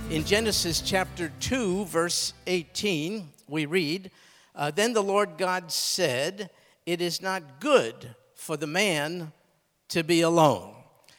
In Genesis chapter 2, verse 18, we read, Then the Lord God said, It is not good for the man to be alone.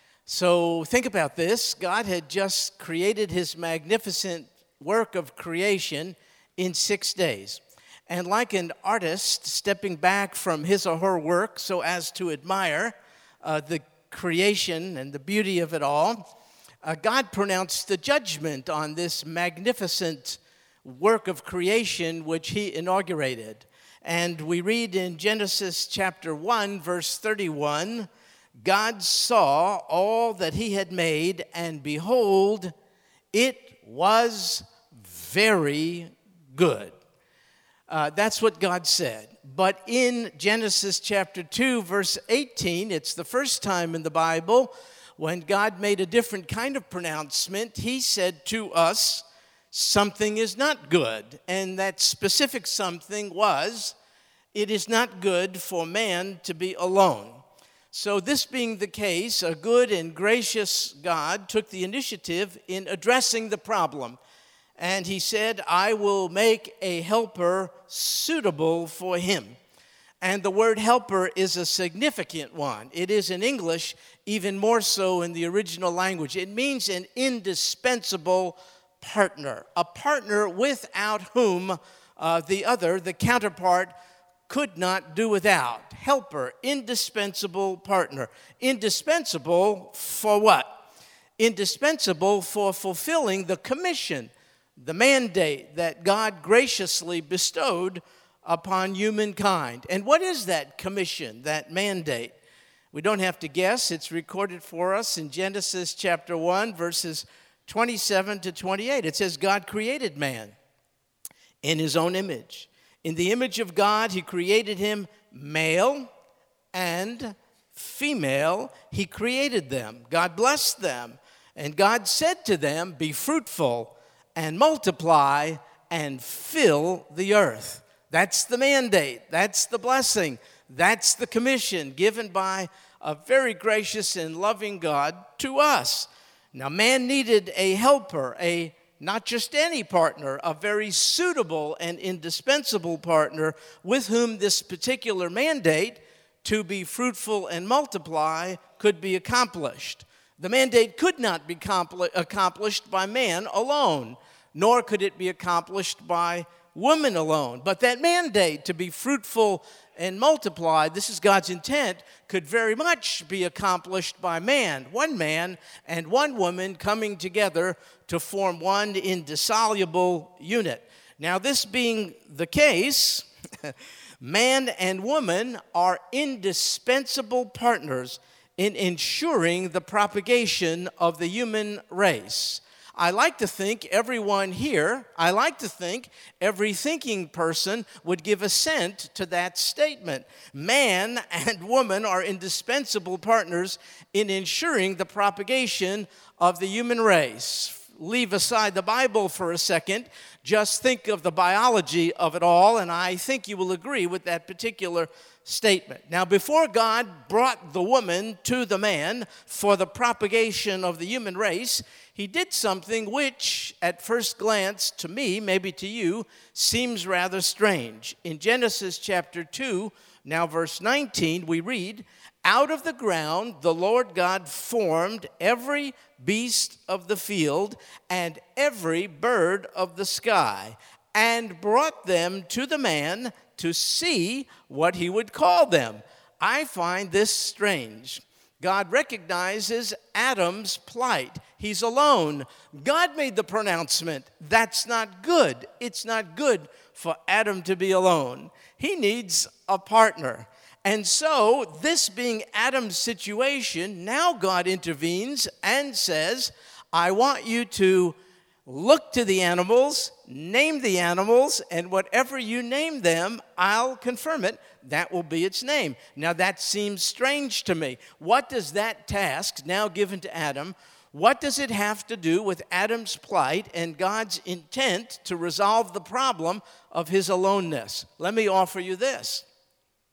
So think about this. God had just created his magnificent work of creation in 6 days. And like an artist stepping back from his or her work so as to admire the creation and the beauty of it all, God pronounced the judgment on this magnificent work of creation which he inaugurated. And we read in Genesis chapter 1, verse 31, God saw all that he had made, and behold, it was very good. That's what God said. But in Genesis chapter 2, verse 18, it's the first time in the Bible when God made a different kind of pronouncement. He said to us, something is not good. And that specific something was, it is not good for man to be alone. So this being the case, a good and gracious God took the initiative in addressing the problem. And he said, I will make a helper suitable for him. And the word helper is a significant one. It is in English, even more so in the original language. It means an indispensable partner, a partner without whom the counterpart, could not do without. Helper, indispensable partner. Indispensable for what? Indispensable for fulfilling the commission, the mandate that God graciously bestowed upon humankind. And what is that commission, that mandate? We don't have to guess. It's recorded for us in Genesis chapter 1, verses 27 to 28. It says, God created man in his own image. In the image of God, he created him male and female. He created them. God blessed them. And God said to them, be fruitful and multiply and fill the earth. That's the mandate. That's the blessing. That's the commission given by a very gracious and loving God to us. Now, man needed a helper, not just any partner, a very suitable and indispensable partner with whom this particular mandate to be fruitful and multiply could be accomplished. The mandate could not be accomplished by man alone, nor could it be accomplished by woman alone. But that mandate to be fruitful and multiply, this is God's intent, could very much be accomplished by man and one woman coming together to form one indissoluble unit. Now, this being the case, man and woman are indispensable partners in ensuring the propagation of the human race. I like to think everyone here, every thinking person would give assent to that statement. Man and woman are indispensable partners in ensuring the propagation of the human race. Leave aside the Bible for a second. Just think of the biology of it all, and I think you will agree with that particular statement. Now, before God brought the woman to the man for the propagation of the human race, he did something which, at first glance, to me, maybe to you, seems rather strange. In Genesis chapter 2, now verse 19, we read, out of the ground the Lord God formed every beast of the field and every bird of the sky, and brought them to the man to see what he would call them. I find this strange. God recognizes Adam's plight. He's alone. God made the pronouncement, that's not good. It's not good for Adam to be alone. He needs a partner. And so, this being Adam's situation, now God intervenes and says, I want you to look to the animals, name the animals, and whatever you name them, I'll confirm it. That will be its name. Now, that seems strange to me. What does that task, now given to Adam, what does it have to do with Adam's plight and God's intent to resolve the problem of his aloneness? Let me offer you this.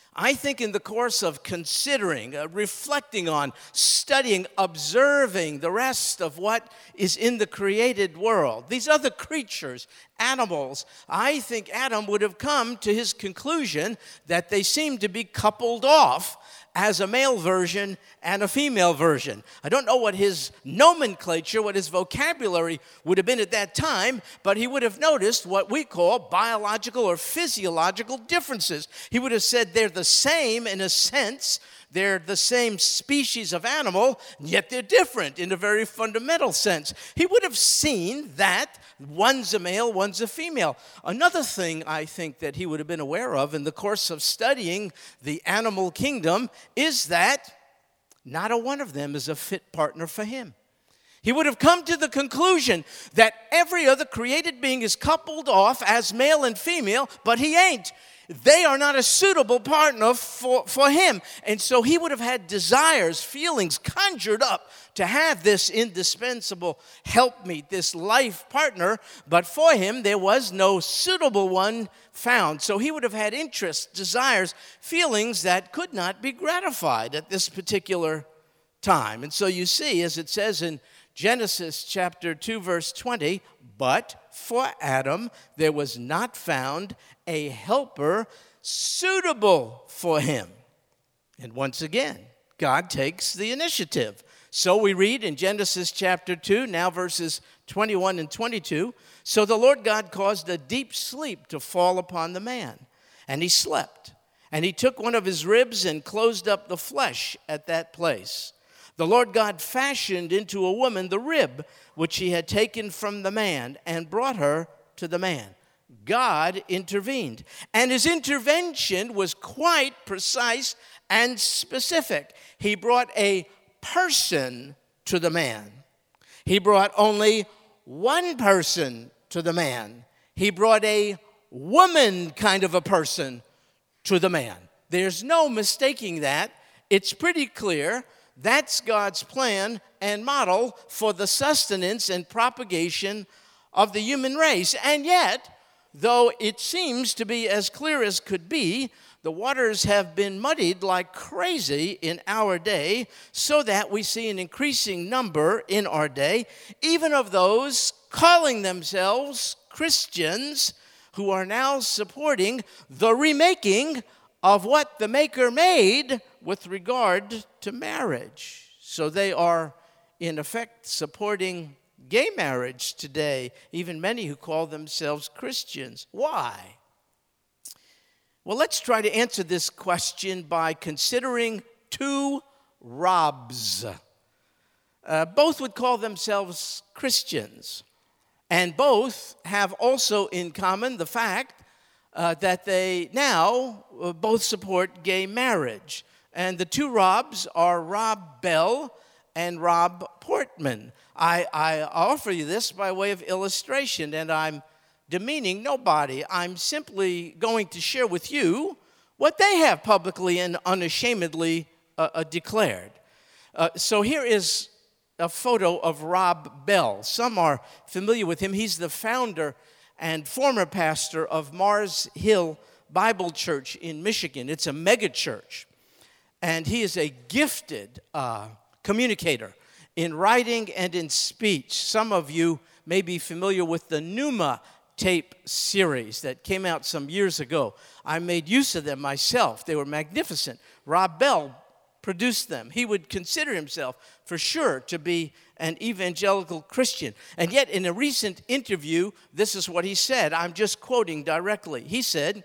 I think in the course of considering, reflecting on, studying, observing the rest of what is in the created world, these other creatures, animals, I think Adam would have come to his conclusion that they seem to be coupled off as a male version and a female version. I don't know what his nomenclature, what his vocabulary would have been at that time, but he would have noticed what we call biological or physiological differences. He would have said they're the same in a sense. They're the same species of animal, yet they're different in a very fundamental sense. He would have seen that one's a male, one's a female. Another thing I think that he would have been aware of in the course of studying the animal kingdom is that not a one of them is a fit partner for him. He would have come to the conclusion that every other created being is coupled off as male and female, but he ain't. They are not a suitable partner for him. And so he would have had desires, feelings conjured up to have this indispensable helpmeet, this life partner. But for him, there was no suitable one found. So he would have had interests, desires, feelings that could not be gratified at this particular time. And so you see, as it says in Genesis chapter 2, verse 20, but for Adam there was not found a helper suitable for him. And once again, God takes the initiative. So we read in Genesis chapter 2, now verses 21 and 22, so the Lord God caused a deep sleep to fall upon the man, and he slept. And he took one of his ribs and closed up the flesh at that place. The Lord God fashioned into a woman the rib which he had taken from the man and brought her to the man. God intervened. And his intervention was quite precise and specific. He brought a person to the man. He brought only one person to the man. He brought a woman kind of a person to the man. There's no mistaking that. It's pretty clear. That's God's plan and model for the sustenance and propagation of the human race. And yet, though it seems to be as clear as could be, the waters have been muddied like crazy in our day, so that we see an increasing number in our day, even of those calling themselves Christians, who are now supporting the remaking of what the Maker made with regard to marriage. So they are, in effect, supporting gay marriage today, even many who call themselves Christians. Why? Well, let's try to answer this question by considering two Robs. Both would call themselves Christians, and both have also in common the fact that they now both support gay marriage. And the two Robs are Rob Bell and Rob Portman. I offer you this by way of illustration, and I'm demeaning nobody. I'm simply going to share with you what they have publicly and unashamedly declared. So here is a photo of Rob Bell. Some are familiar with him. He's the founder and former pastor of Mars Hill Bible Church in Michigan. It's a mega church. And he is a gifted communicator in writing and in speech. Some of you may be familiar with the Pneuma tape series that came out some years ago. I made use of them myself. They were magnificent. Rob Bell produced them. He would consider himself, for sure, to be an evangelical Christian. And yet, in a recent interview, this is what he said. I'm just quoting directly. He said,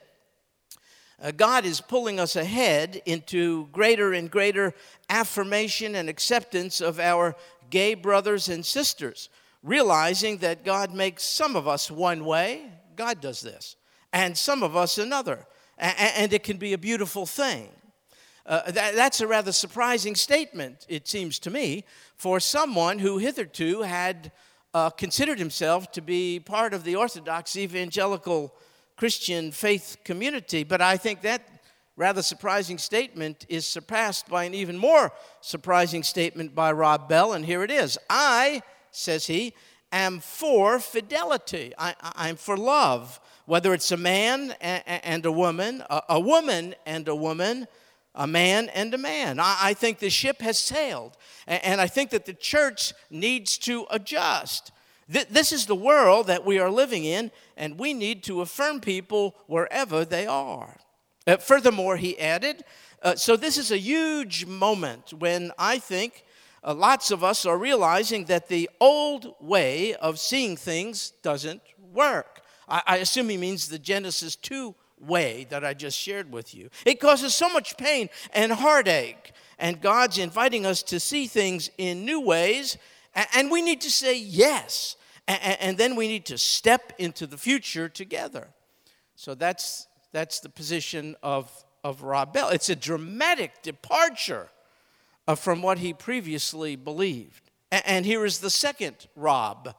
God is pulling us ahead into greater and greater affirmation and acceptance of our gay brothers and sisters, realizing that God makes some of us one way, God does this, and some of us another, and it can be a beautiful thing. That's a rather surprising statement, it seems to me, for someone who hitherto had considered himself to be part of the Orthodox evangelical Christian faith community. But I think that rather surprising statement is surpassed by an even more surprising statement by Rob Bell, and here it is. I, says he, am for fidelity. I'm for love, whether it's a man and a woman and a woman, a man and a man. I think the ship has sailed, and I think that the church needs to adjust. This is the world that we are living in, and we need to affirm people wherever they are. Furthermore, he added, so this is a huge moment when I think lots of us are realizing that the old way of seeing things doesn't work. I assume he means the Genesis 2 way that I just shared with you. It causes so much pain and heartache, and God's inviting us to see things in new ways, and we need to say yes, and then we need to step into the future together. So that's the position of Rob Bell. It's a dramatic departure from what he previously believed. And here is the second Rob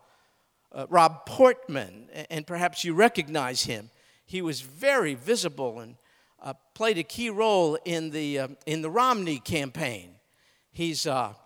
Portman, and perhaps you recognize him. He was very visible and played a key role in the Romney campaign. He's a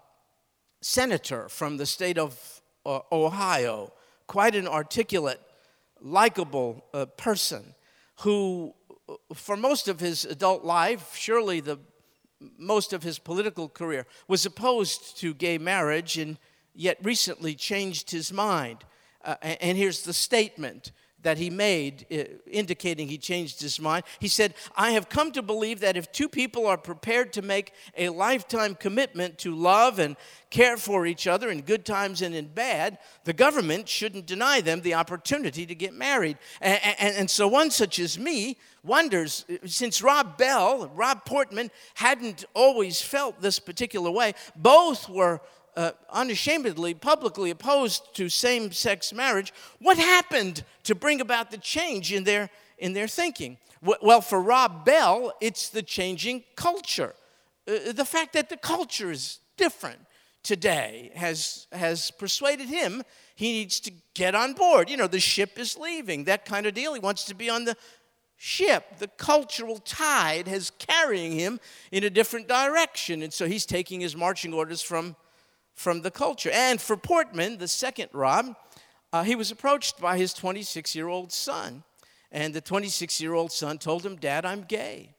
senator from the state of Ohio, quite an articulate, likable person who, for most of his adult life, surely most of his political career, was opposed to gay marriage and yet recently changed his mind. And here's the statement that he made indicating he changed his mind. He said, "I have come to believe that if two people are prepared to make a lifetime commitment to love and care for each other in good times and in bad, the government shouldn't deny them the opportunity to get married." And so one such as me wonders, since Rob Portman hadn't always felt this particular way, both were unashamedly, publicly opposed to same-sex marriage, what happened to bring about the change in their thinking? Well, for Rob Bell, it's the changing culture. The fact that the culture is different today has persuaded him he needs to get on board. You know, the ship is leaving, that kind of deal. He wants to be on the ship. The cultural tide is carrying him in a different direction, and so he's taking his marching orders from the culture. And for Portman, the second Rob, he was approached by his 26-year-old son. And the 26-year-old son told him, "Dad, I'm gay."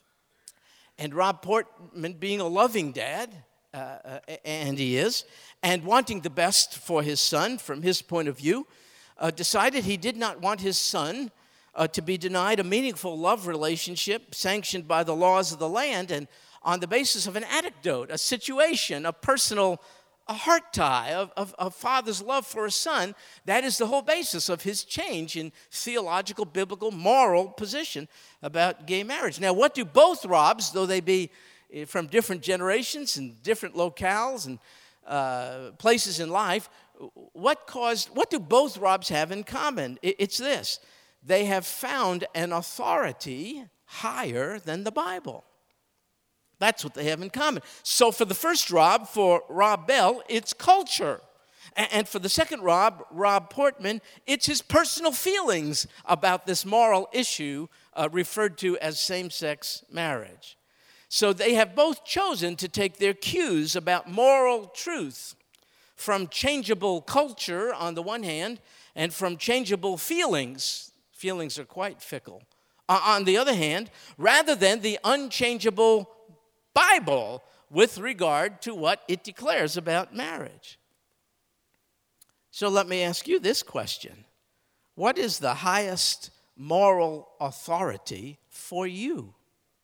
And Rob Portman, being a loving dad, and he is, and wanting the best for his son from his point of view, decided he did not want his son to be denied a meaningful love relationship sanctioned by the laws of the land and on the basis of an anecdote, a situation, a personal heart tie of a father's love for a son. That is the whole basis of his change in theological, biblical, moral position about gay marriage. Now, what do both Robs, though they be from different generations and different locales and places in life, what do both Robs have in common? It's this: they have found an authority higher than the Bible. That's what they have in common. So for the first Rob, for Rob Bell, it's culture. And for the second Rob Portman, it's his personal feelings about this moral issue referred to as same-sex marriage. So they have both chosen to take their cues about moral truth from changeable culture on the one hand and from changeable feelings. Feelings are quite fickle. On the other hand, rather than the unchangeable Bible with regard to what it declares about marriage. So let me ask you this question: what is the highest moral authority for you?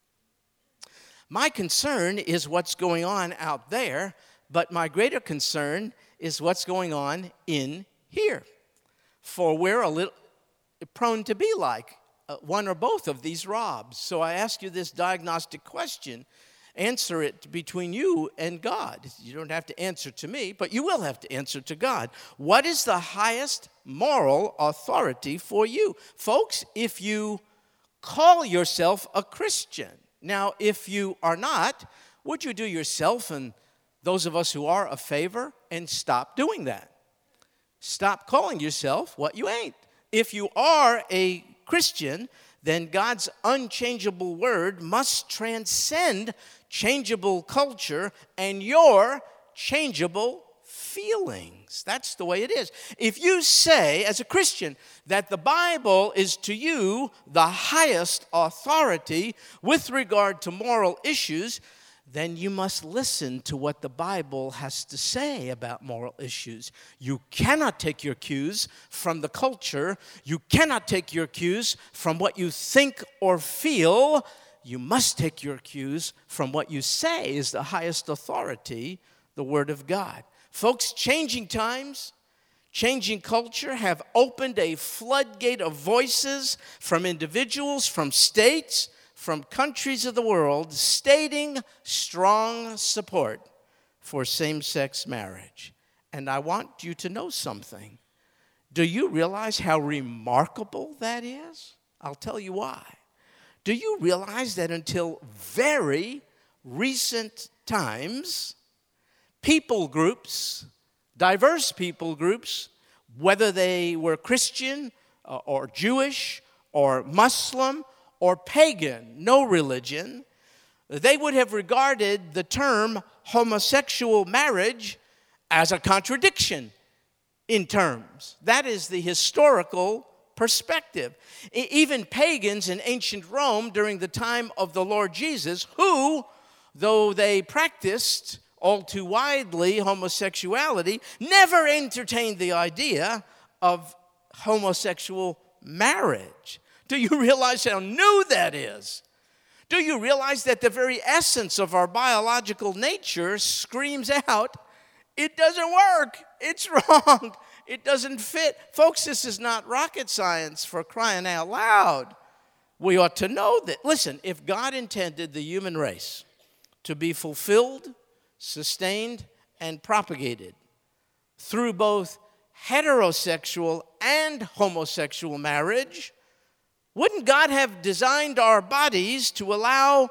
My concern is what's going on out there, but my greater concern is what's going on in here. For we're a little prone to be like one or both of these Robs. So I ask you this diagnostic question. Answer it between you and God. You don't have to answer to me, but you will have to answer to God. What is the highest moral authority for you? Folks, if you call yourself a Christian, now if you are not, would you do yourself and those of us who are a favor and stop doing that? Stop calling yourself what you ain't. If you are a Christian, then God's unchangeable word must transcend changeable culture and your changeable feelings. things. That's the way it is. If you say, as a Christian, that the Bible is to you the highest authority with regard to moral issues, then you must listen to what the Bible has to say about moral issues. You cannot take your cues from the culture. You cannot take your cues from what you think or feel. You must take your cues from what you say is the highest authority, the Word of God. Folks, changing times, changing culture have opened a floodgate of voices from individuals, from states, from countries of the world, stating strong support for same-sex marriage. And I want you to know something. Do you realize how remarkable that is? I'll tell you why. Do you realize that until very recent times, people groups, diverse people groups, whether they were Christian or Jewish or Muslim or pagan, no religion, they would have regarded the term homosexual marriage as a contradiction in terms. That is the historical perspective. Even pagans in ancient Rome during the time of the Lord Jesus, who, though they practiced all too widely homosexuality, never entertained the idea of homosexual marriage. Do you realize how new that is? Do you realize that the very essence of our biological nature screams out, it doesn't work, it's wrong, it doesn't fit? Folks, this is not rocket science, for crying out loud. We ought to know that. Listen, if God intended the human race to be fulfilled, sustained, and propagated through both heterosexual and homosexual marriage, wouldn't God have designed our bodies to allow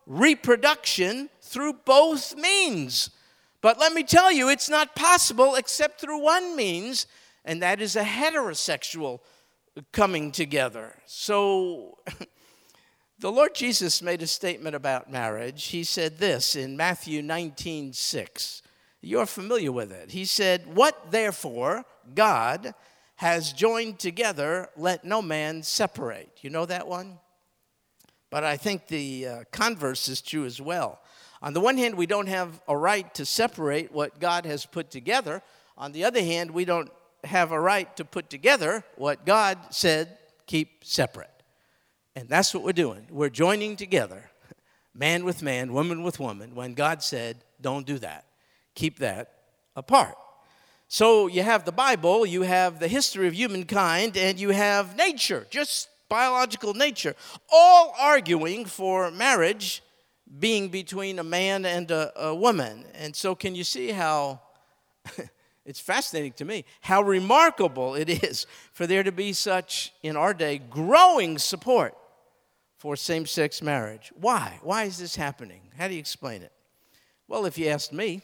reproduction through both means? But let me tell you, it's not possible except through one means, and that is a heterosexual coming together. So the Lord Jesus made a statement about marriage. He said this in Matthew 19:6. You're familiar with it. He said, "What therefore God has joined together, let no man separate." You know that one? But I think the converse is true as well. On the one hand, we don't have a right to separate what God has put together. On the other hand, we don't have a right to put together what God said keep separate. And that's what we're doing. We're joining together, man with man, woman with woman, when God said, don't do that. Keep that apart. So you have the Bible, you have the history of humankind, and you have nature, just biological nature, all arguing for marriage being between a man and a woman. And so can you see how, it's fascinating to me, how remarkable it is for there to be such, in our day, growing support for same-sex marriage. Why? Why is this happening? How do you explain it? Well, if you asked me,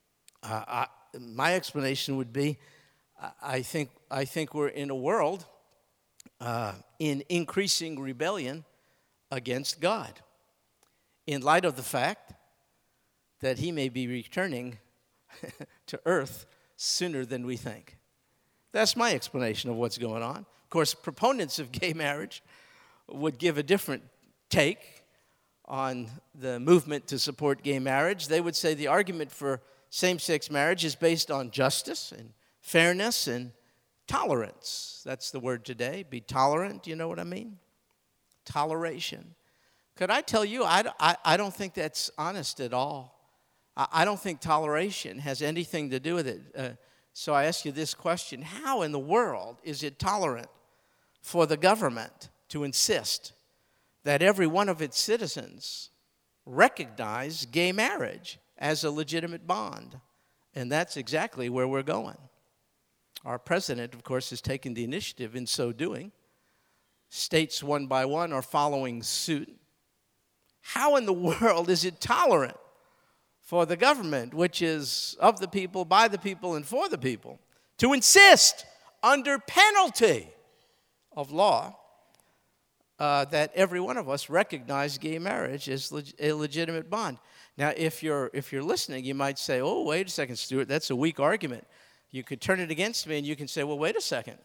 my explanation would be, I think we're in a world in increasing rebellion against God, in light of the fact that he may be returning to earth sooner than we think. That's my explanation of what's going on. Of course, proponents of gay marriage would give a different take on the movement to support gay marriage. They would say the argument for same-sex marriage is based on justice and fairness and tolerance. That's the word today. Be tolerant, you know what I mean? Toleration. Could I tell you, I don't think that's honest at all. I don't think toleration has anything to do with it. So I ask you this question: how in the world is it tolerant for the government to insist that every one of its citizens recognize gay marriage as a legitimate bond? And that's exactly where we're going. Our president, of course, has taken the initiative in so doing. States one by one are following suit. How in the world is it tolerant for the government, which is of the people, by the people, and for the people, to insist under penalty of law that every one of us recognize gay marriage as a legitimate bond? Now, if you're listening, you might say, oh, wait a second, Stuart, that's a weak argument. You could turn it against me and you can say, well, wait a second.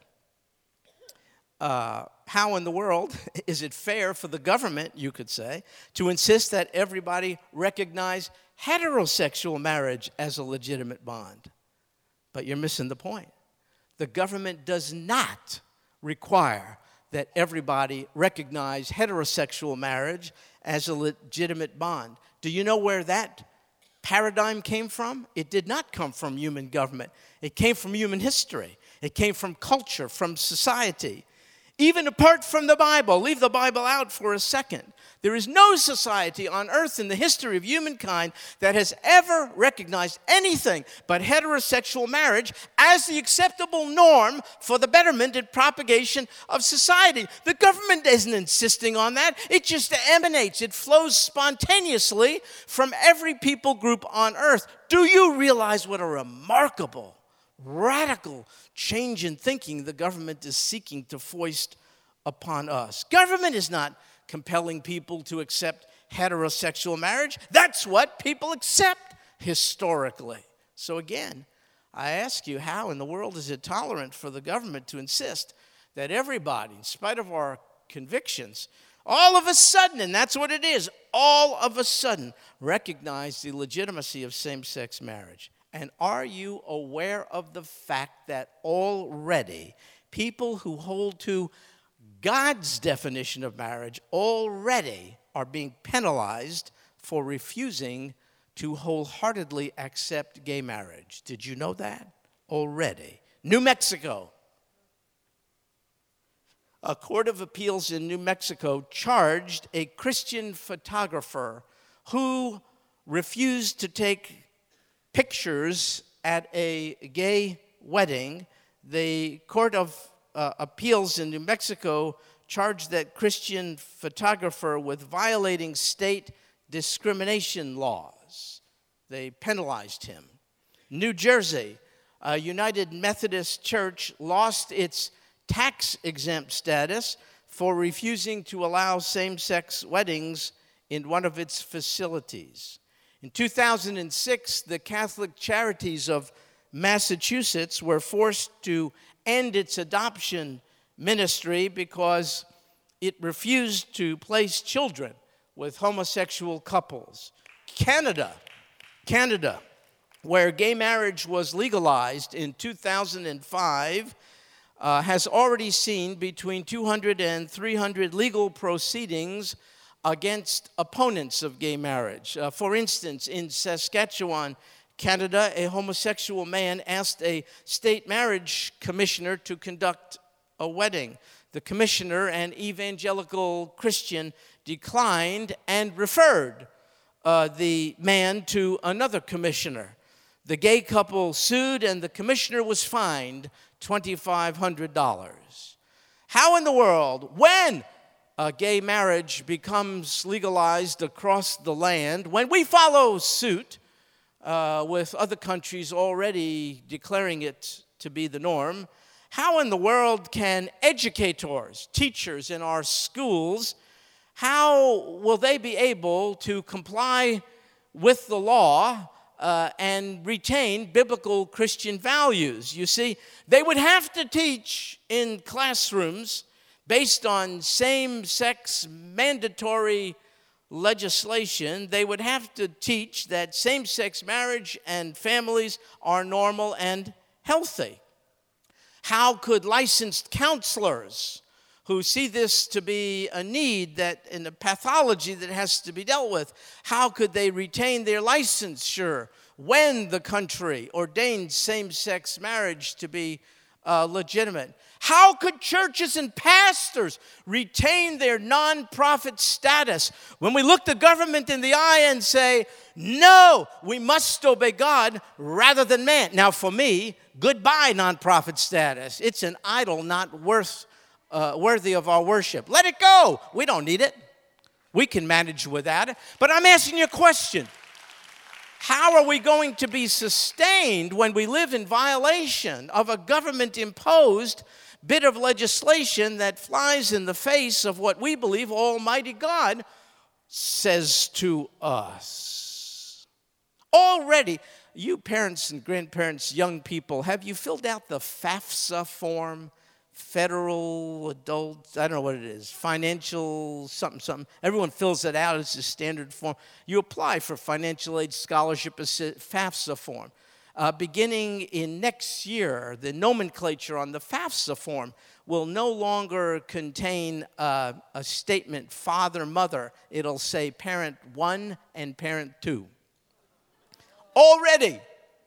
How in the world is it fair for the government, you could say, to insist that everybody recognize heterosexual marriage as a legitimate bond? But you're missing the point. The government does not require that everybody recognize heterosexual marriage as a legitimate bond. Do you know where that paradigm came from? It did not come from human government. It came from human history. It came from culture, from society. Even apart from the Bible, leave the Bible out for a second. There is no society on earth in the history of humankind that has ever recognized anything but heterosexual marriage as the acceptable norm for the betterment and propagation of society. The government isn't insisting on that. It just emanates. It flows spontaneously from every people group on earth. Do you realize what a remarkable, radical change in thinking the government is seeking to foist upon us? Government is not compelling people to accept heterosexual marriage. That's what people accept historically. So again, I ask you, how in the world is it tolerant for the government to insist that everybody, in spite of our convictions, all of a sudden, and that's what it is, all of a sudden recognize the legitimacy of same-sex marriage? And are you aware of the fact that already people who hold to God's definition of marriage already are being penalized for refusing to wholeheartedly accept gay marriage? Did you know that? Already. New Mexico. A court of appeals in New Mexico charged a Christian photographer who refused to take pictures at a gay wedding. The court of appeals in New Mexico charged that Christian photographer with violating state discrimination laws. They penalized him. New Jersey, a United Methodist Church lost its tax-exempt status for refusing to allow same-sex weddings in one of its facilities. In 2006, the Catholic Charities of Massachusetts were forced to end its adoption ministry because it refused to place children with homosexual couples. Canada, where gay marriage was legalized in 2005, has already seen between 200 and 300 legal proceedings against opponents of gay marriage. For instance, in Saskatchewan, Canada, a homosexual man asked a state marriage commissioner to conduct a wedding. The commissioner, an evangelical Christian, declined and referred the man to another commissioner. The gay couple sued, and the commissioner was fined $2,500. How in the world, when gay marriage becomes legalized across the land, when we follow suit with other countries already declaring it to be the norm, how in the world can educators, teachers in our schools, how will they be able to comply with the law and retain biblical Christian values? You see, they would have to teach in classrooms based on same-sex mandatory legislation. They would have to teach that same-sex marriage and families are normal and healthy. How could licensed counselors who see this to be a need that in a pathology that has to be dealt with, how could they retain their licensure when the country ordains same-sex marriage to be legitimate? How could churches and pastors retain their nonprofit status when we look the government in the eye and say, no, we must obey God rather than man? Now, for me, goodbye nonprofit status. It's an idol not worthy of our worship. Let it go. We don't need it. We can manage without it. But I'm asking you a question. How are we going to be sustained when we live in violation of a government-imposed bit of legislation that flies in the face of what we believe Almighty God says to us? Already, you parents and grandparents, young people, have you filled out the FAFSA form? Federal Adult, I don't know what it is, financial something. Everyone fills it out. It's a standard form. You apply for financial aid, scholarship, FAFSA form. Beginning in next year, the nomenclature on the FAFSA form will no longer contain a statement, father, mother. It'll say parent 1 and parent 2. Already.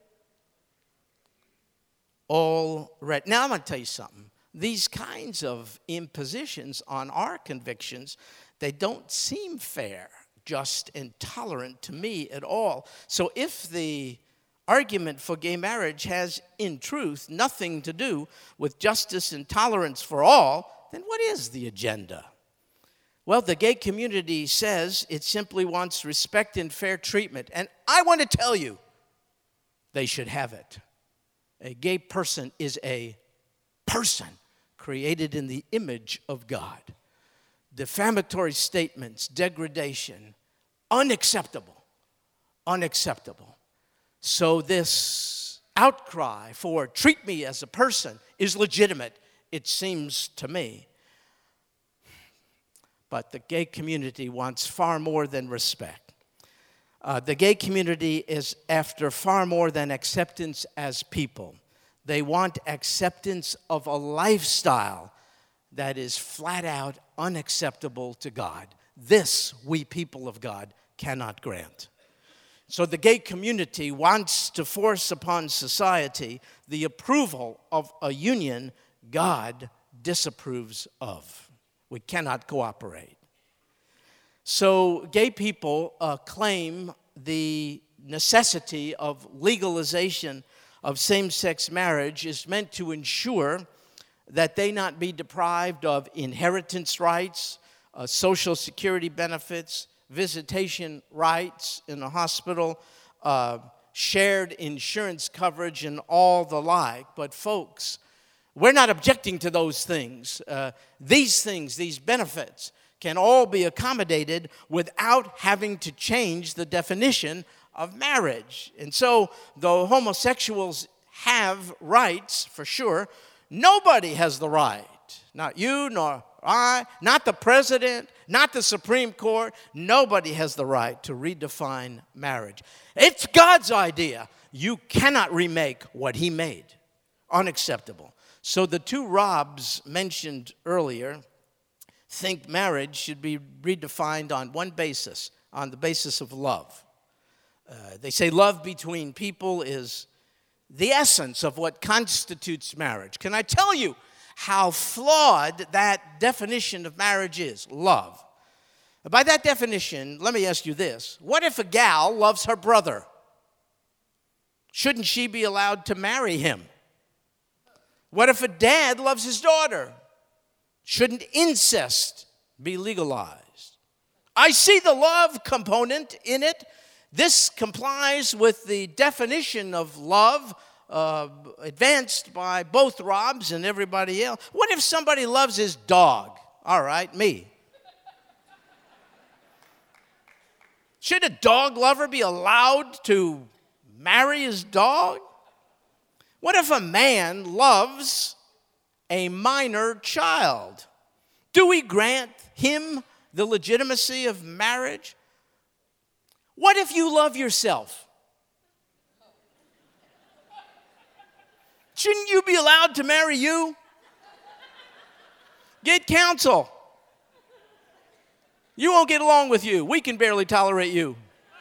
Now I'm going to tell you something. These kinds of impositions on our convictions, they don't seem fair, just, and tolerant to me at all. So if the argument for gay marriage has, in truth, nothing to do with justice and tolerance for all, then what is the agenda? Well, the gay community says it simply wants respect and fair treatment. And I want to tell you, they should have it. A gay person is a person created in the image of God. Defamatory statements, degradation, unacceptable. Unacceptable. So this outcry for treat me as a person is legitimate, it seems to me. But the gay community wants far more than respect. The gay community is after far more than acceptance as people. They want acceptance of a lifestyle that is flat out unacceptable to God. This, we people of God, cannot grant. So the gay community wants to force upon society the approval of a union God disapproves of. We cannot cooperate. So gay people claim the necessity of legalization of same-sex marriage is meant to ensure that they not be deprived of inheritance rights, Social Security benefits, visitation rights in the hospital, shared insurance coverage, and all the like. But folks, we're not objecting to those things. These benefits, can all be accommodated without having to change the definition of marriage. And so, though homosexuals have rights, for sure, nobody has the right, not you, nor I, not the president, not the Supreme Court, nobody has the right to redefine marriage. It's God's idea. You cannot remake what he made. Unacceptable. So the two Robs mentioned earlier think marriage should be redefined on one basis, on the basis of love. They say love between people is the essence of what constitutes marriage. Can I tell you how flawed that definition of marriage is? Love. By that definition, let me ask you this. What if a gal loves her brother? Shouldn't she be allowed to marry him? What if a dad loves his daughter? Shouldn't incest be legalized? I see the love component in it. This complies with the definition of love advanced by both Robs and everybody else. What if somebody loves his dog? All right, me. Should a dog lover be allowed to marry his dog? What if a man loves a minor child? Do we grant him the legitimacy of marriage? What if you love yourself? Shouldn't you be allowed to marry you? Get counsel. You won't get along with you. We can barely tolerate you.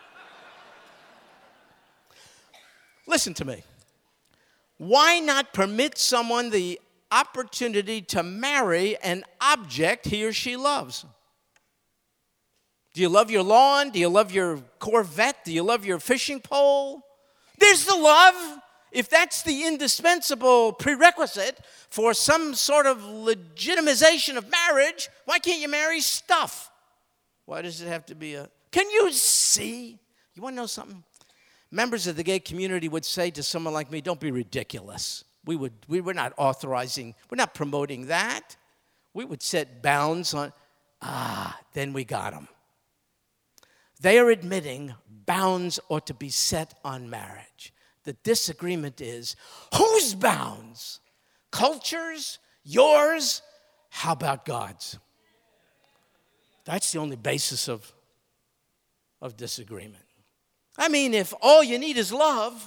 Listen to me. Why not permit someone the opportunity to marry an object he or she loves? Do you love your lawn? Do you love your Corvette? Do you love your fishing pole? There's the love. If that's the indispensable prerequisite for some sort of legitimization of marriage, why can't you marry stuff? Why does it have to be a... Can you see? You want to know something? Members of the gay community would say to someone like me, don't be ridiculous. We're not authorizing, we're not promoting that. We would set bounds on, then we got them. They are admitting bounds ought to be set on marriage. The disagreement is, whose bounds? Culture's? Yours? How about God's? That's the only basis of disagreement. I mean, if all you need is love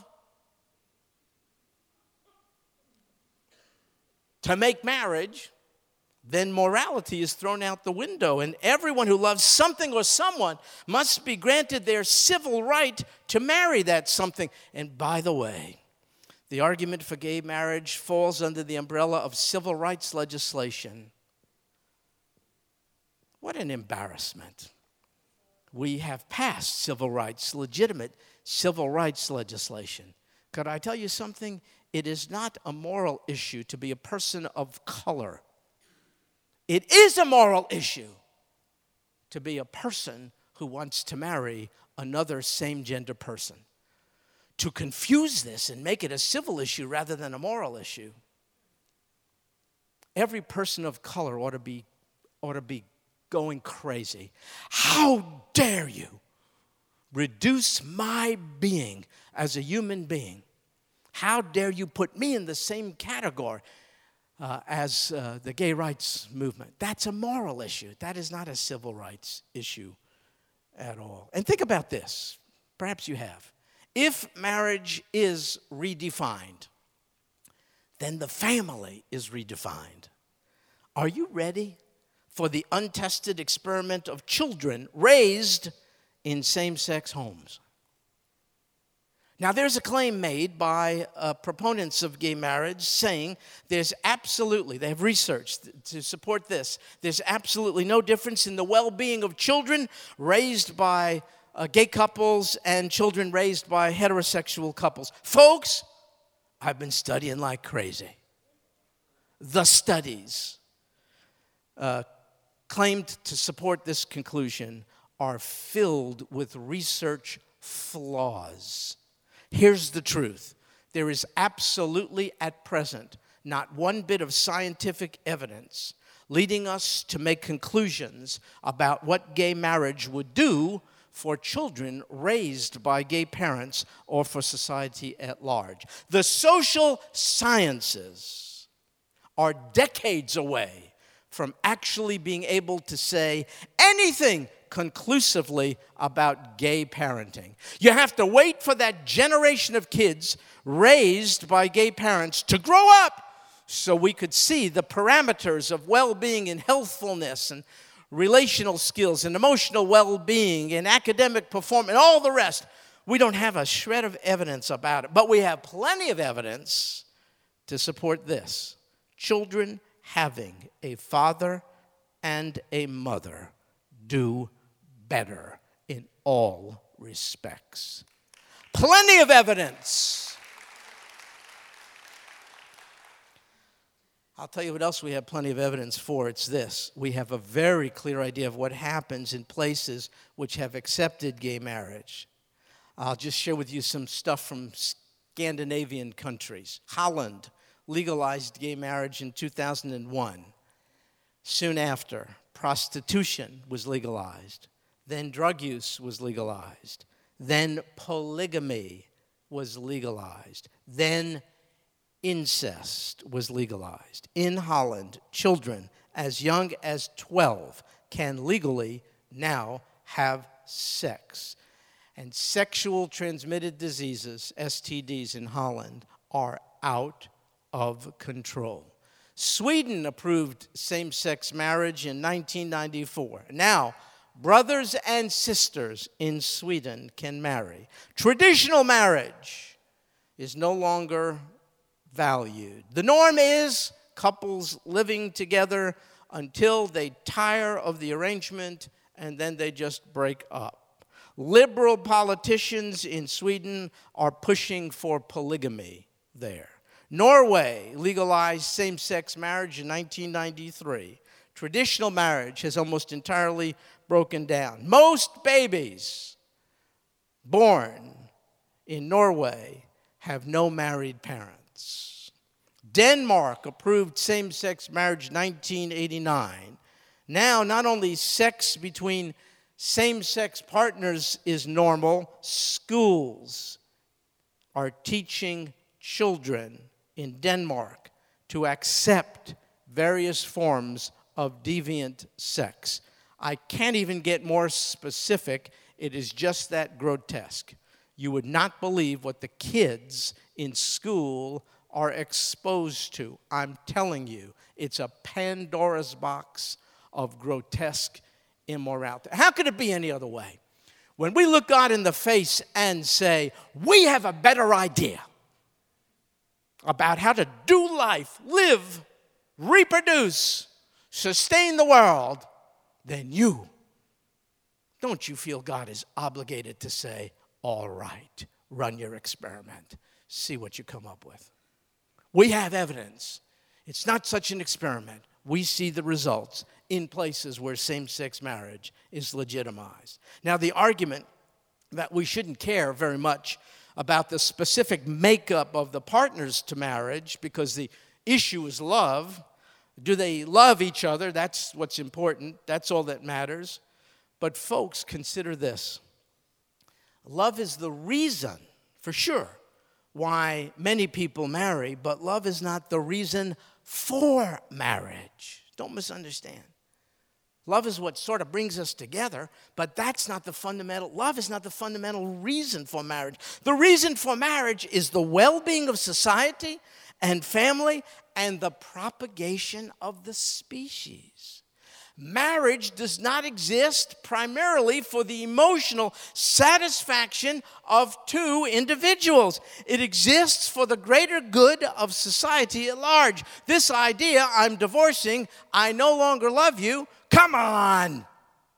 to make marriage, then morality is thrown out the window, and everyone who loves something or someone must be granted their civil right to marry that something. And by the way, the argument for gay marriage falls under the umbrella of civil rights legislation. What an embarrassment. We have passed civil rights, legitimate civil rights legislation. Could I tell you something? It is not a moral issue to be a person of color. It is a moral issue to be a person who wants to marry another same-gender person. To confuse this and make it a civil issue rather than a moral issue. Every person of color ought to be going crazy. How dare you reduce my being as a human being? How dare you put me in the same category as the gay rights movement? That's a moral issue. That is not a civil rights issue at all. And think about this. Perhaps you have. If marriage is redefined, then the family is redefined. Are you ready for the untested experiment of children raised in same-sex homes? Now, there's a claim made by proponents of gay marriage saying there's absolutely, they have research to support this, there's absolutely no difference in the well-being of children raised by gay couples and children raised by heterosexual couples. Folks, I've been studying like crazy. The studies claimed to support this conclusion are filled with research flaws. Here's the truth. There is absolutely at present not one bit of scientific evidence leading us to make conclusions about what gay marriage would do for children raised by gay parents or for society at large. The social sciences are decades away from actually being able to say anything conclusively about gay parenting. You have to wait for that generation of kids raised by gay parents to grow up so we could see the parameters of well-being and healthfulness and relational skills and emotional well-being and academic performance and all the rest. We don't have a shred of evidence about it, but we have plenty of evidence to support this. Children having a father and a mother do better in all respects. Plenty of evidence. I'll tell you what else we have plenty of evidence for. It's this. We have a very clear idea of what happens in places which have accepted gay marriage. I'll just share with you some stuff from Scandinavian countries. Holland legalized gay marriage in 2001. Soon after, prostitution was legalized. Then drug use was legalized. Then polygamy was legalized. Then incest was legalized. In Holland, children as young as 12 can legally now have sex. And sexual transmitted diseases, STDs in Holland, are out of control. Sweden approved same-sex marriage in 1994. Now, brothers and sisters in Sweden can marry. Traditional marriage is no longer valued. The norm is couples living together until they tire of the arrangement and then they just break up. Liberal politicians in Sweden are pushing for polygamy there. Norway legalized same-sex marriage in 1993. Traditional marriage has almost entirely broken down. Most babies born in Norway have no married parents. Denmark approved same-sex marriage in 1989. Now, not only sex between same-sex partners is normal, schools are teaching children in Denmark to accept various forms of deviant sex. I can't even get more specific. It is just that grotesque. You would not believe what the kids in school are exposed to. I'm telling you, it's a Pandora's box of grotesque immorality. How could it be any other way? When we look God in the face and say, we have a better idea about how to do life, live, reproduce, sustain the world, than you, don't you feel God is obligated to say, all right, run your experiment, see what you come up with? We have evidence. It's not such an experiment. We see the results in places where same-sex marriage is legitimized. Now, the argument that we shouldn't care very much about the specific makeup of the partners to marriage because the issue is love. Do they love each other? That's what's important. That's all that matters. But folks, consider this. Love is the reason, for sure, why many people marry, but love is not the reason for marriage. Don't misunderstand. Love is what sort of brings us together, but that's not the fundamental, love is not the fundamental reason for marriage. The reason for marriage is the well-being of society and family and the propagation of the species. Marriage does not exist primarily for the emotional satisfaction of two individuals. It exists for the greater good of society at large. This idea, I'm divorcing, I no longer love you, come on.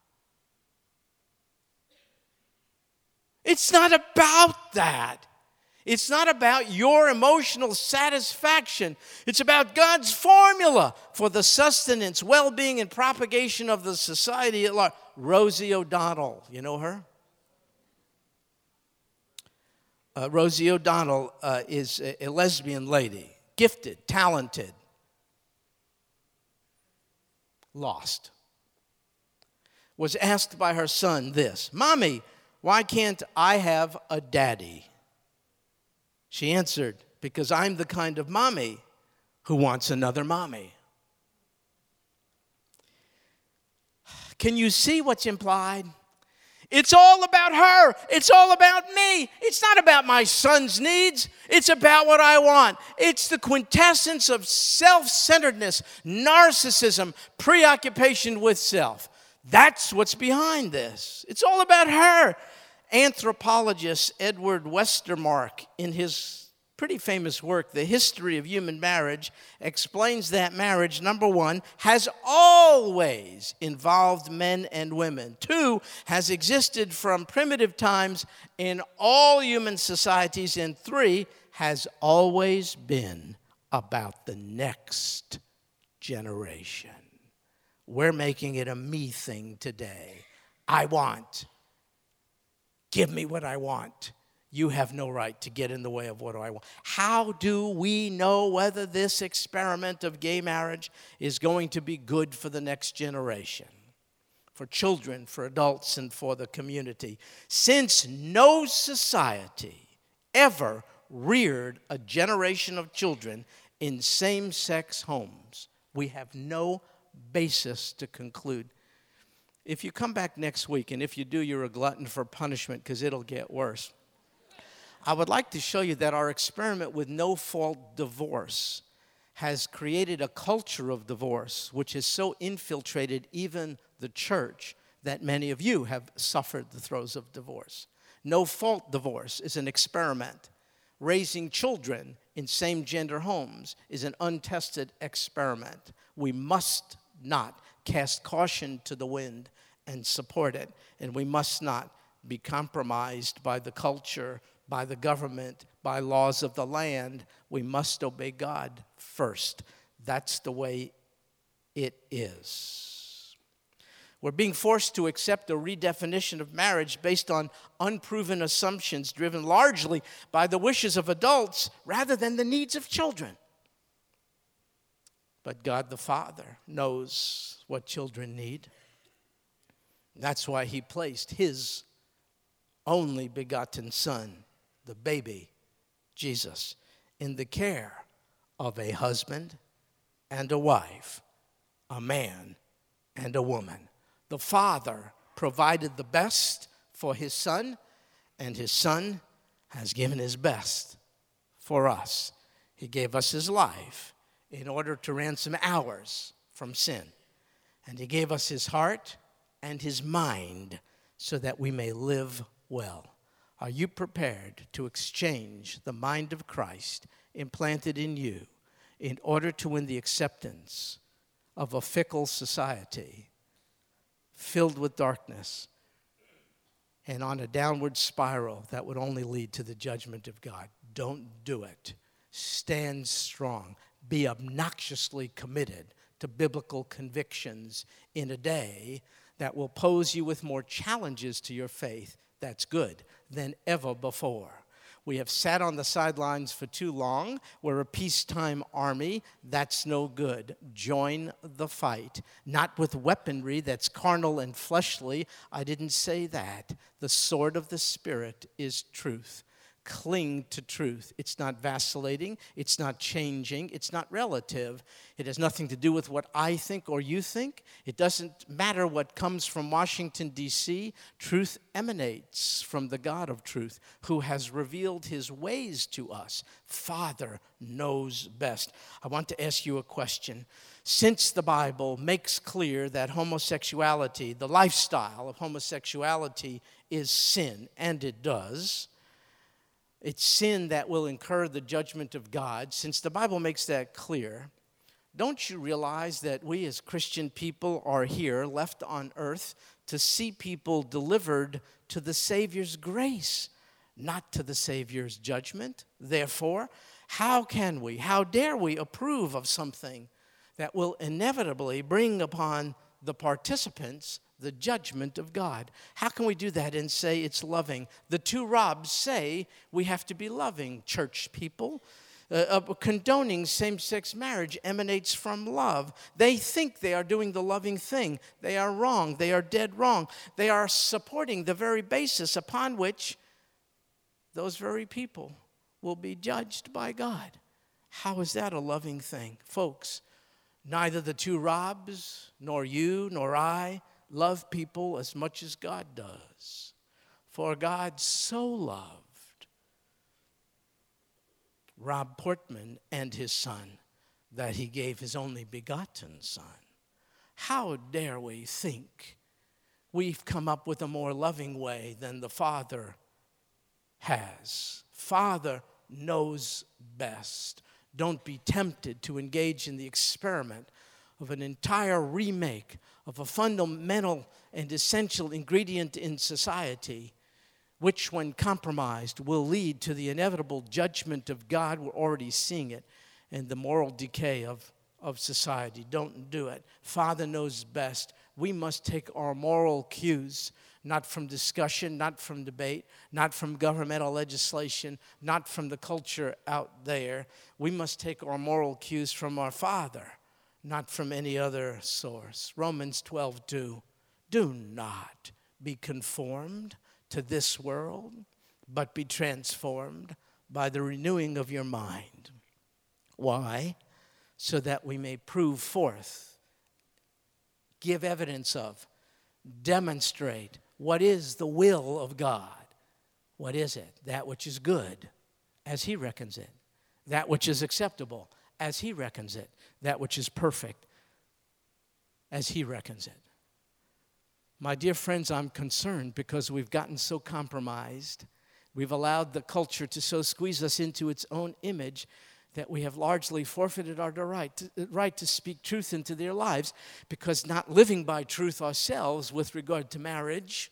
It's not about that. It's not about your emotional satisfaction. It's about God's formula for the sustenance, well-being, and propagation of the society at large. Rosie O'Donnell, you know her? Rosie O'Donnell is a lesbian lady, gifted, talented, lost. Was asked by her son this, "Mommy, why can't I have a daddy?" She answered, "Because I'm the kind of mommy who wants another mommy." Can you see what's implied? It's all about her. It's all about me. It's not about my son's needs. It's about what I want. It's the quintessence of self-centeredness, narcissism, preoccupation with self. That's what's behind this. It's all about her. Anthropologist Edward Westermark, in his pretty famous work, The History of Human Marriage, explains that marriage, number one, has always involved men and women. Two, has existed from primitive times in all human societies. And three, has always been about the next generation. We're making it a me thing today. I want. Give me what I want. You have no right to get in the way of what I want. How do we know whether this experiment of gay marriage is going to be good for the next generation? For children, for adults, and for the community? Since no society ever reared a generation of children in same-sex homes, we have no basis to conclude. If you come back next week, and if you do, you're a glutton for punishment because it'll get worse. I would like to show you that our experiment with no-fault divorce has created a culture of divorce which has so infiltrated even the church that many of you have suffered the throes of divorce. No-fault divorce is an experiment. Raising children in same-gender homes is an untested experiment. We must not cast caution to the wind and support it. And we must not be compromised by the culture, by the government, by laws of the land. We must obey God first. That's the way it is. We're being forced to accept a redefinition of marriage based on unproven assumptions driven largely by the wishes of adults rather than the needs of children. But God the Father knows what children need. That's why he placed his only begotten son, the baby, Jesus, in the care of a husband and a wife, a man and a woman. The Father provided the best for his Son, and his Son has given his best for us. He gave us his life in order to ransom ours from sin. And he gave us his heart and his mind so that we may live well. Are you prepared to exchange the mind of Christ implanted in you in order to win the acceptance of a fickle society filled with darkness and on a downward spiral that would only lead to the judgment of God? Don't do it. Stand strong. Be obnoxiously committed to biblical convictions in a day that will pose you with more challenges to your faith, that's good, than ever before. We have sat on the sidelines for too long. We're a peacetime army. That's no good. Join the fight. Not with weaponry that's carnal and fleshly. I didn't say that. The sword of the Spirit is truth. Cling to truth. It's not vacillating. It's not changing. It's not relative. It has nothing to do with what I think or you think. It doesn't matter what comes from Washington, D.C. Truth emanates from the God of truth who has revealed his ways to us. Father knows best. I want to ask you a question. Since the Bible makes clear that homosexuality, the lifestyle of homosexuality is sin, and it does, it's sin that will incur the judgment of God. Since the Bible makes that clear, don't you realize that we as Christian people are here, left on earth, to see people delivered to the Savior's grace, not to the Savior's judgment? Therefore, how dare we approve of something that will inevitably bring upon the participants the judgment of God? How can we do that and say it's loving? The two Robs say we have to be loving, church people. Condoning same-sex marriage emanates from love. They think they are doing the loving thing. They are wrong. They are dead wrong. They are supporting the very basis upon which those very people will be judged by God. How is that a loving thing? Folks, neither the two Robs, nor you, nor I, love people as much as God does. For God so loved Rob Portman and his son that he gave his only begotten son. How dare we think we've come up with a more loving way than the Father has? Father knows best. Don't be tempted to engage in the experiment of an entire remake of a fundamental and essential ingredient in society, which, when compromised, will lead to the inevitable judgment of God. We're already seeing it, and the moral decay of society. Don't do it. Father knows best. We must take our moral cues not from discussion, not from debate, not from governmental legislation, not from the culture out there. We must take our moral cues from our Father, not from any other source. Romans 12:2. Do not be conformed to this world, but be transformed by the renewing of your mind. Why? So that we may prove forth, give evidence of, demonstrate what is the will of God. What is it? That which is good, as he reckons it. That which is acceptable, as he reckons it. That which is perfect, as he reckons it. My dear friends, I'm concerned because we've gotten so compromised. We've allowed the culture to so squeeze us into its own image that we have largely forfeited our right to speak truth into their lives, because not living by truth ourselves with regard to marriage,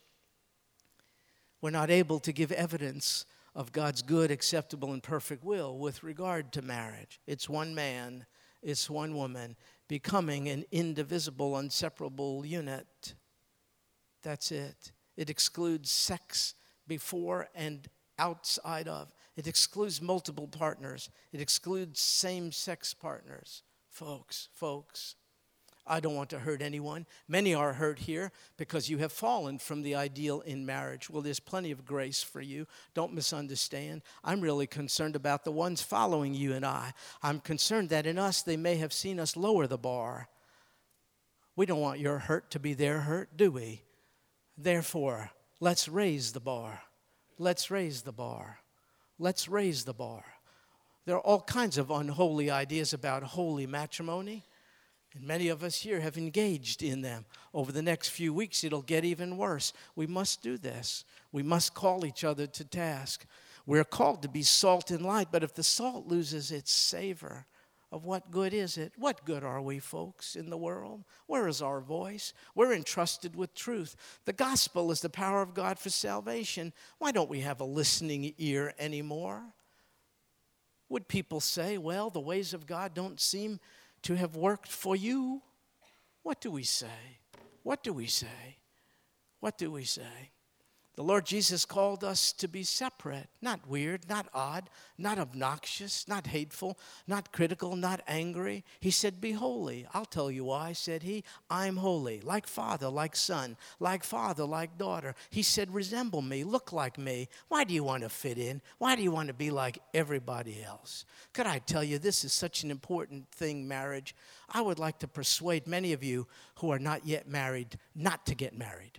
we're not able to give evidence of God's good, acceptable, and perfect will with regard to marriage. It's one man, it's one woman, becoming an indivisible, inseparable unit. That's it. It excludes sex before and outside of. It excludes multiple partners. It excludes same-sex partners. Folks, I don't want to hurt anyone. Many are hurt here because you have fallen from the ideal in marriage. Well, there's plenty of grace for you. Don't misunderstand. I'm really concerned about the ones following you and I. I'm concerned that in us, they may have seen us lower the bar. We don't want your hurt to be their hurt, do we? Therefore, let's raise the bar. Let's raise the bar. Let's raise the bar. There are all kinds of unholy ideas about holy matrimony. And many of us here have engaged in them. Over the next few weeks, it'll get even worse. We must do this. We must call each other to task. We're called to be salt and light, but if the salt loses its savor, of what good is it? What good are we, folks, in the world? Where is our voice? We're entrusted with truth. The gospel is the power of God for salvation. Why don't we have a listening ear anymore? Would people say, well, the ways of God don't seem to have worked for you? What do we say? What do we say? What do we say? The Lord Jesus called us to be separate, not weird, not odd, not obnoxious, not hateful, not critical, not angry. He said, be holy. I'll tell you why, said he. I'm holy, like father, like son, like father, like daughter. He said, resemble me, look like me. Why do you want to fit in? Why do you want to be like everybody else? Could I tell you, this is such an important thing, marriage. I would like to persuade many of you who are not yet married not to get married.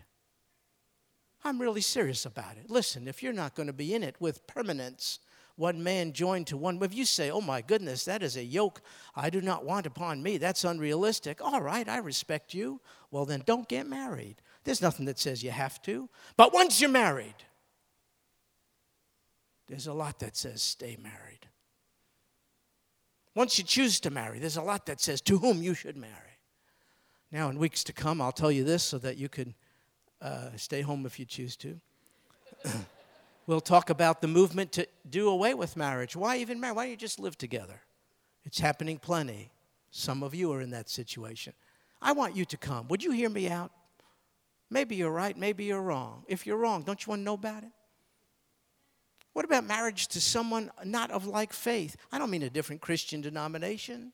I'm really serious about it. Listen, if you're not going to be in it with permanence, one man joined to one. If you say, oh my goodness, that is a yoke I do not want upon me, that's unrealistic. All right, I respect you. Well, then don't get married. There's nothing that says you have to. But once you're married, there's a lot that says stay married. Once you choose to marry, there's a lot that says to whom you should marry. Now, in weeks to come, I'll tell you this so that you could stay home if you choose to. We'll talk about the movement to do away with marriage. Why even marry? Why don't you just live together? It's happening plenty. Some of you are in that situation. I want you to come. Would you hear me out? Maybe you're right, maybe you're wrong. If you're wrong, don't you want to know about it? What about marriage to someone not of like faith? I don't mean a different Christian denomination.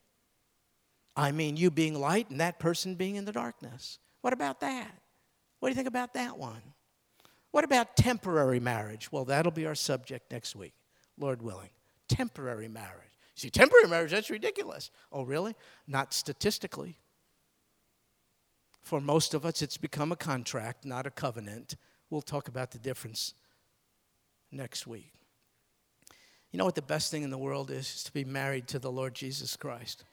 I mean you being light and that person being in the darkness. What about that? What do you think about that one? What about temporary marriage? Well, that'll be our subject next week, Lord willing. Temporary marriage. See, temporary marriage, that's ridiculous. Oh, really? Not statistically. For most of us, it's become a contract, not a covenant. We'll talk about the difference next week. You know what the best thing in the world is? It's to be married to the Lord Jesus Christ.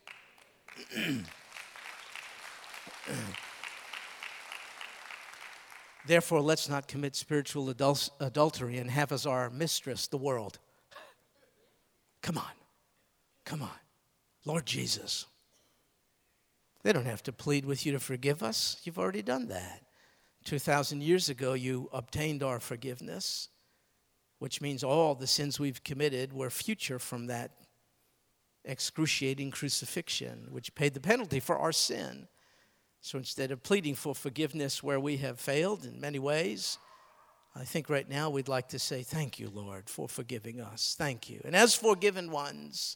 Therefore, let's not commit spiritual adultery and have as our mistress the world. Come on. Come on. Lord Jesus. They don't have to plead with you to forgive us. You've already done that. 2,000 years ago, you obtained our forgiveness, which means all the sins we've committed were future from that excruciating crucifixion, which paid the penalty for our sin. So instead of pleading for forgiveness where we have failed in many ways, I think right now we'd like to say, thank you, Lord, for forgiving us. Thank you. And as forgiven ones,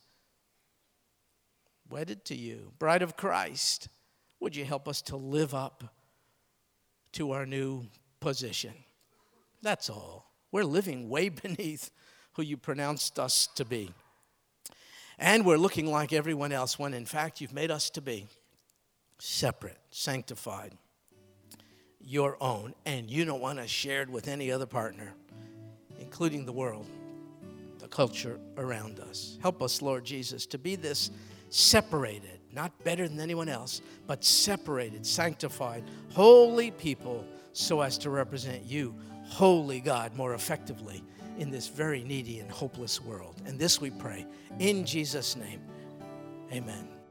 wedded to you, bride of Christ, would you help us to live up to our new position? That's all. We're living way beneath who you pronounced us to be. And we're looking like everyone else when, in fact, you've made us to be separate, sanctified, your own, and you don't want us shared with any other partner, including the world, the culture around us. Help us, Lord Jesus, to be this separated, not better than anyone else, but separated, sanctified, holy people so as to represent you, holy God, more effectively in this very needy and hopeless world. And this we pray in Jesus' name. Amen.